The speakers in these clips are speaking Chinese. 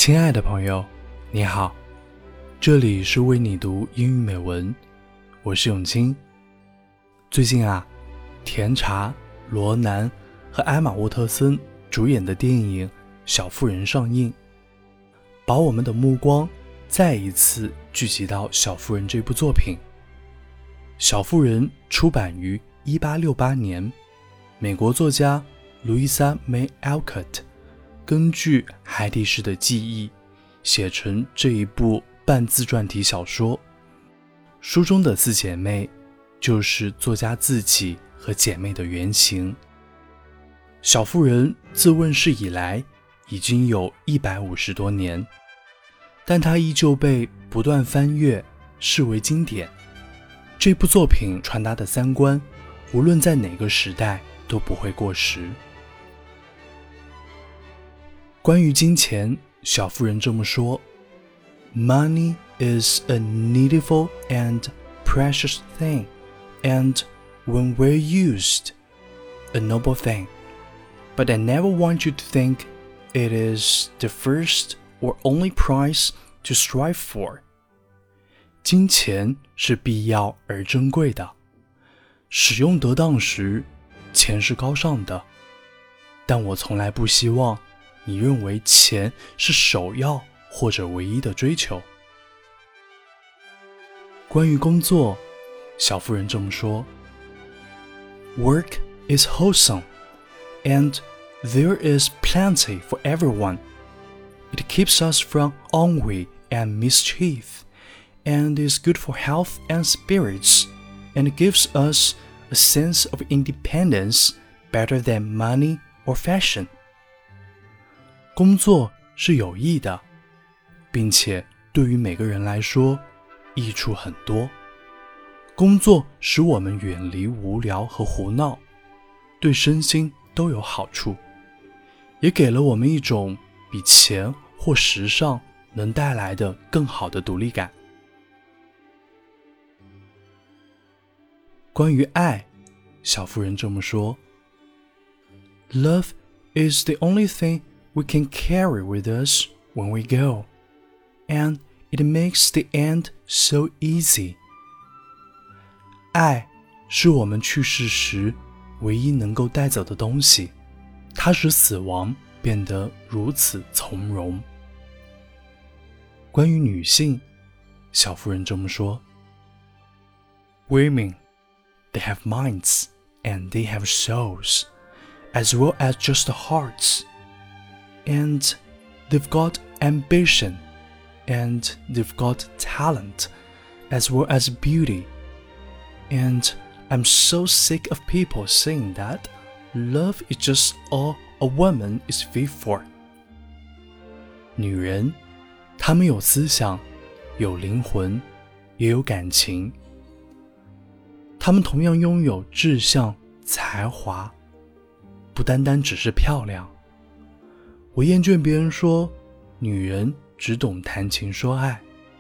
亲爱的朋友，你好，这里是为你读英语美文，我是永清。最近甜茶、罗南和艾玛沃特森主演的电影《小妇人》上映，把我们的目光再一次聚集到《小妇人》这部作品。《小妇人》出版于1868年，美国作家路易莎·梅·艾克特根据海蒂氏的记忆写成这一部半自传体小说。书中的四姐妹就是作家自己和姐妹的原型。小妇人自问世以来已经有150多年，但它依旧被不断翻阅，视为经典。这部作品传达的三观，无论在哪个时代都不会过时。关于金钱，小妇人这么说 Money is a needful and precious thing, and when well used, a noble thing. But I never want you to think it is the first or only prize to strive for. 金钱是必要而珍贵的，使用得当时，钱是高尚的，但我从来不希望你认为钱是首要或者唯一的追求。关于工作，小妇人这么说 Work is wholesome, and there is plenty for everyone. It keeps us from ennui and mischief, and is good for health and spirits, and gives us a sense of independence better than money or fashion. 工作是有益的，并且对于每个人来说益处很多。工作使我们远离无聊和胡闹，对身心都有好处，也给了我们一种比钱或时尚能带来的更好的独立感。关于爱，小妇人这么说 Love is the only thing we can carry with us when we go, and it makes the end so easy. 爱是我们去世时唯一能够带走的东西，它使死亡变得如此从容。关于女性，小妇人这么说 Women, they have minds, and they have souls, as well as just hearts.And they've got ambition, and they've got talent, as well as beauty. And I'm so sick of people saying that love is just all a woman is fit for. 女人，她们有思想，有灵魂，也有感情。她们同样拥有志向、才华，不单单只是漂亮。我厌倦别人说女人只懂谈情说爱。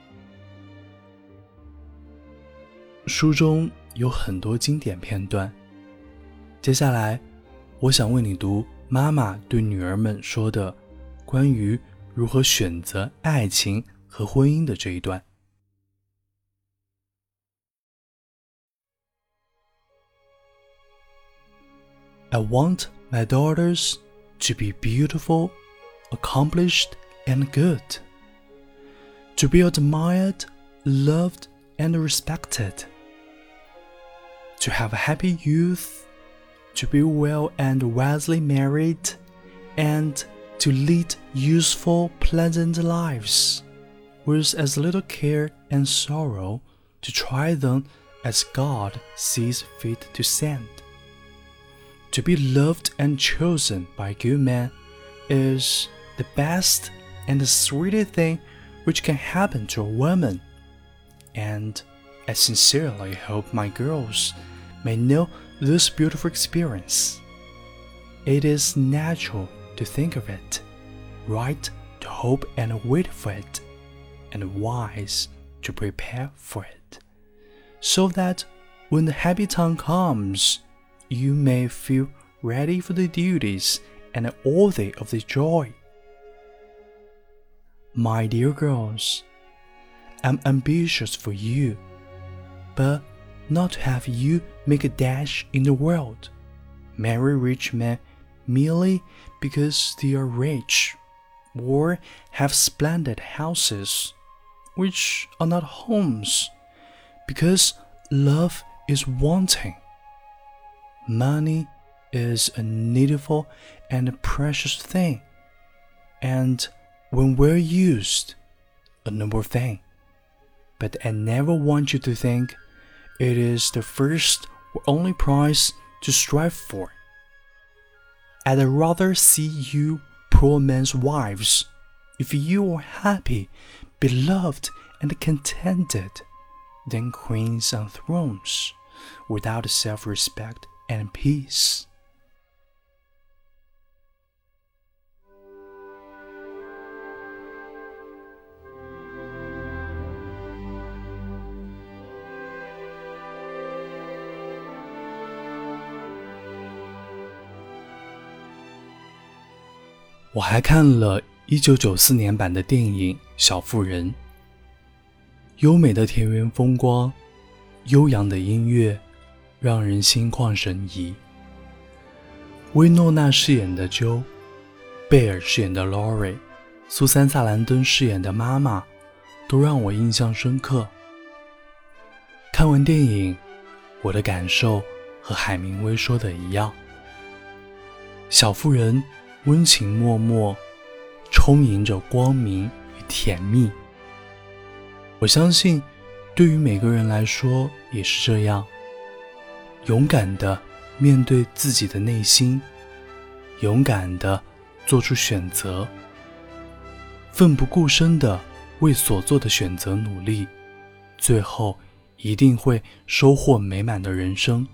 书中有很多经典片段，接下来我想为你读妈妈对女儿们说的关于如何选择爱情和婚姻的这一段。I want my daughters to be beautiful, accomplished, and good. To be admired, loved, and respected. To have a happy youth, to be well and wisely married, and to lead useful, pleasant lives, with as little care and sorrow to try them as God sees fit to send. To be loved and chosen by good men is the best and the sweetest thing which can happen to a woman, and I sincerely hope my girls may know this beautiful experience. It is natural to think of it, right to hope and wait for it, and wise to prepare for it, so that when the happy time comes, you may feel ready for the duties and worthy of the joy. My dear girls, I'm ambitious for you, but not to have you make a dash in the world, marry rich men merely because they are rich, or have splendid houses, which are not homes, because love is wanting. Money is a needful and a precious thing, and when well used, a noble thing. But I never want you to think it is the first or only prize to strive for. I'd rather see you poor men's wives, if you are happy, beloved, and contented, than queens on thrones, without self-respect and peace. 我还看了1994年版的电影《小妇人》，优美的田园风光，悠扬的音乐，让人心旷神怡。薇诺娜饰演的 Jo， 贝尔饰演的 Laurie， 苏珊·萨兰登饰演的妈妈，都让我印象深刻。看完电影，我的感受和海明威说的一样，小妇人温情脉脉，充盈着光明与甜蜜。我相信对于每个人来说也是这样，勇敢地面对自己的内心，勇敢地做出选择，奋不顾身地为所做的选择努力，最后一定会收获美满的人生。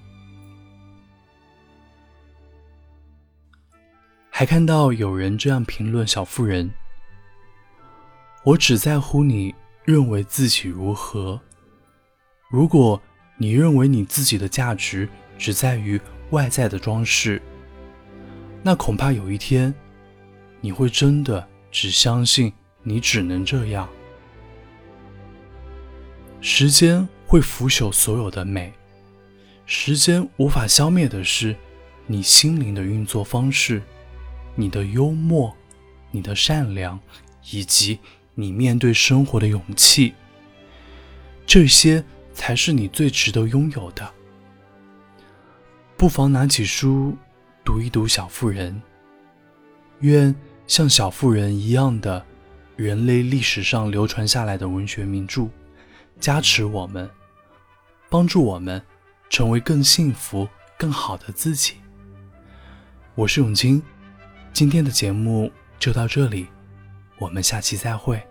还看到有人这样评论小妇人：我只在乎你认为自己如何，如果你认为你自己的价值只在于外在的装饰，那恐怕有一天你会真的只相信你只能这样。时间会腐朽所有的美，时间无法消灭的是你心灵的运作方式，你的幽默，你的善良，以及你面对生活的勇气，这些才是你最值得拥有的。不妨拿起书读一读小妇人，愿像小妇人一样的人类历史上流传下来的文学名著加持我们，帮助我们成为更幸福更好的自己。我是永清，今天的节目就到这里，我们下期再会。